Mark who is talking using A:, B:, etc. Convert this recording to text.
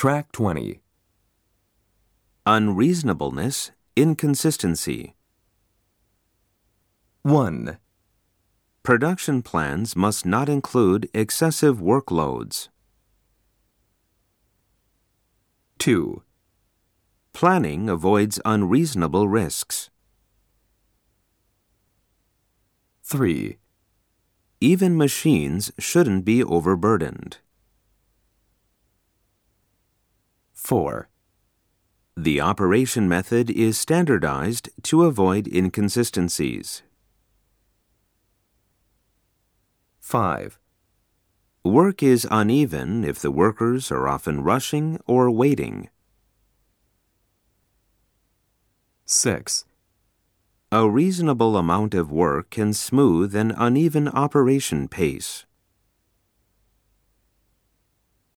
A: Track 20.
B: Unreasonableness, inconsistency.
A: 1,
B: Production plans must not include excessive workloads.
A: 2,
B: Planning avoids unreasonable risks.
A: 3,
B: Even machines shouldn't be overburdened.
A: 4,
B: The operation method is standardized to avoid inconsistencies.
A: 5,
B: Work is uneven if the workers are often rushing or waiting.
A: 6,
B: A reasonable amount of work can smooth an uneven operation pace.